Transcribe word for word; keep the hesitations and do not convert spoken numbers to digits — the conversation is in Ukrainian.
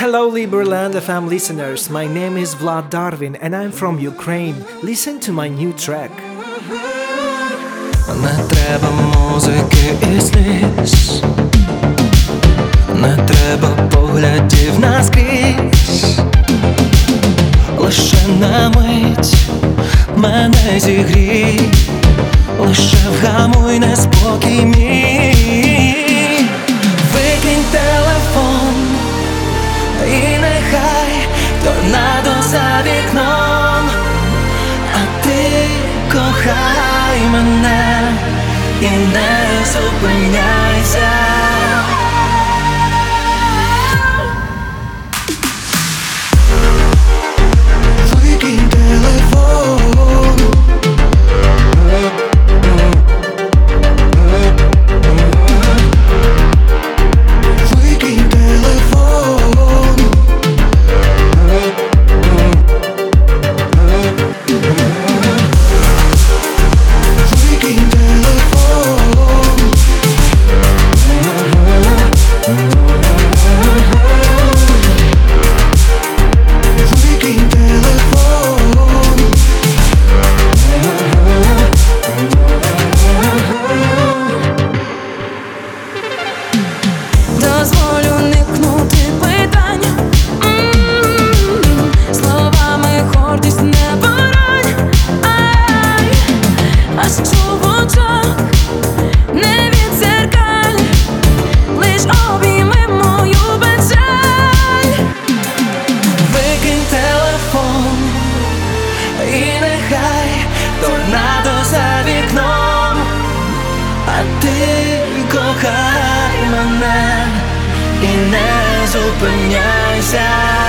Hello Liberland F M listeners, my name is Vlad Darwin and I'm from Ukraine. Listen to my new track. Не треба музики і сліз, не треба поглядів наскрізь. Лише на мить мене зігрій, лише вгамуй неспокій мій. Викинь телефон і нехай торнадо за вікном, а ти кохай мене і не зупиняйся. Викинь телефон, викинь телефон, викинь телефон. Викинь телефон. Дозволю уникнути питань, М-м-м. Словами гордість не бороть, ай, а що в очах не відзеркаль, лиш обійми мою печаль. Викинь телефон і нехай торнадо за вікном, а ти кохай мене і не зупиняйся.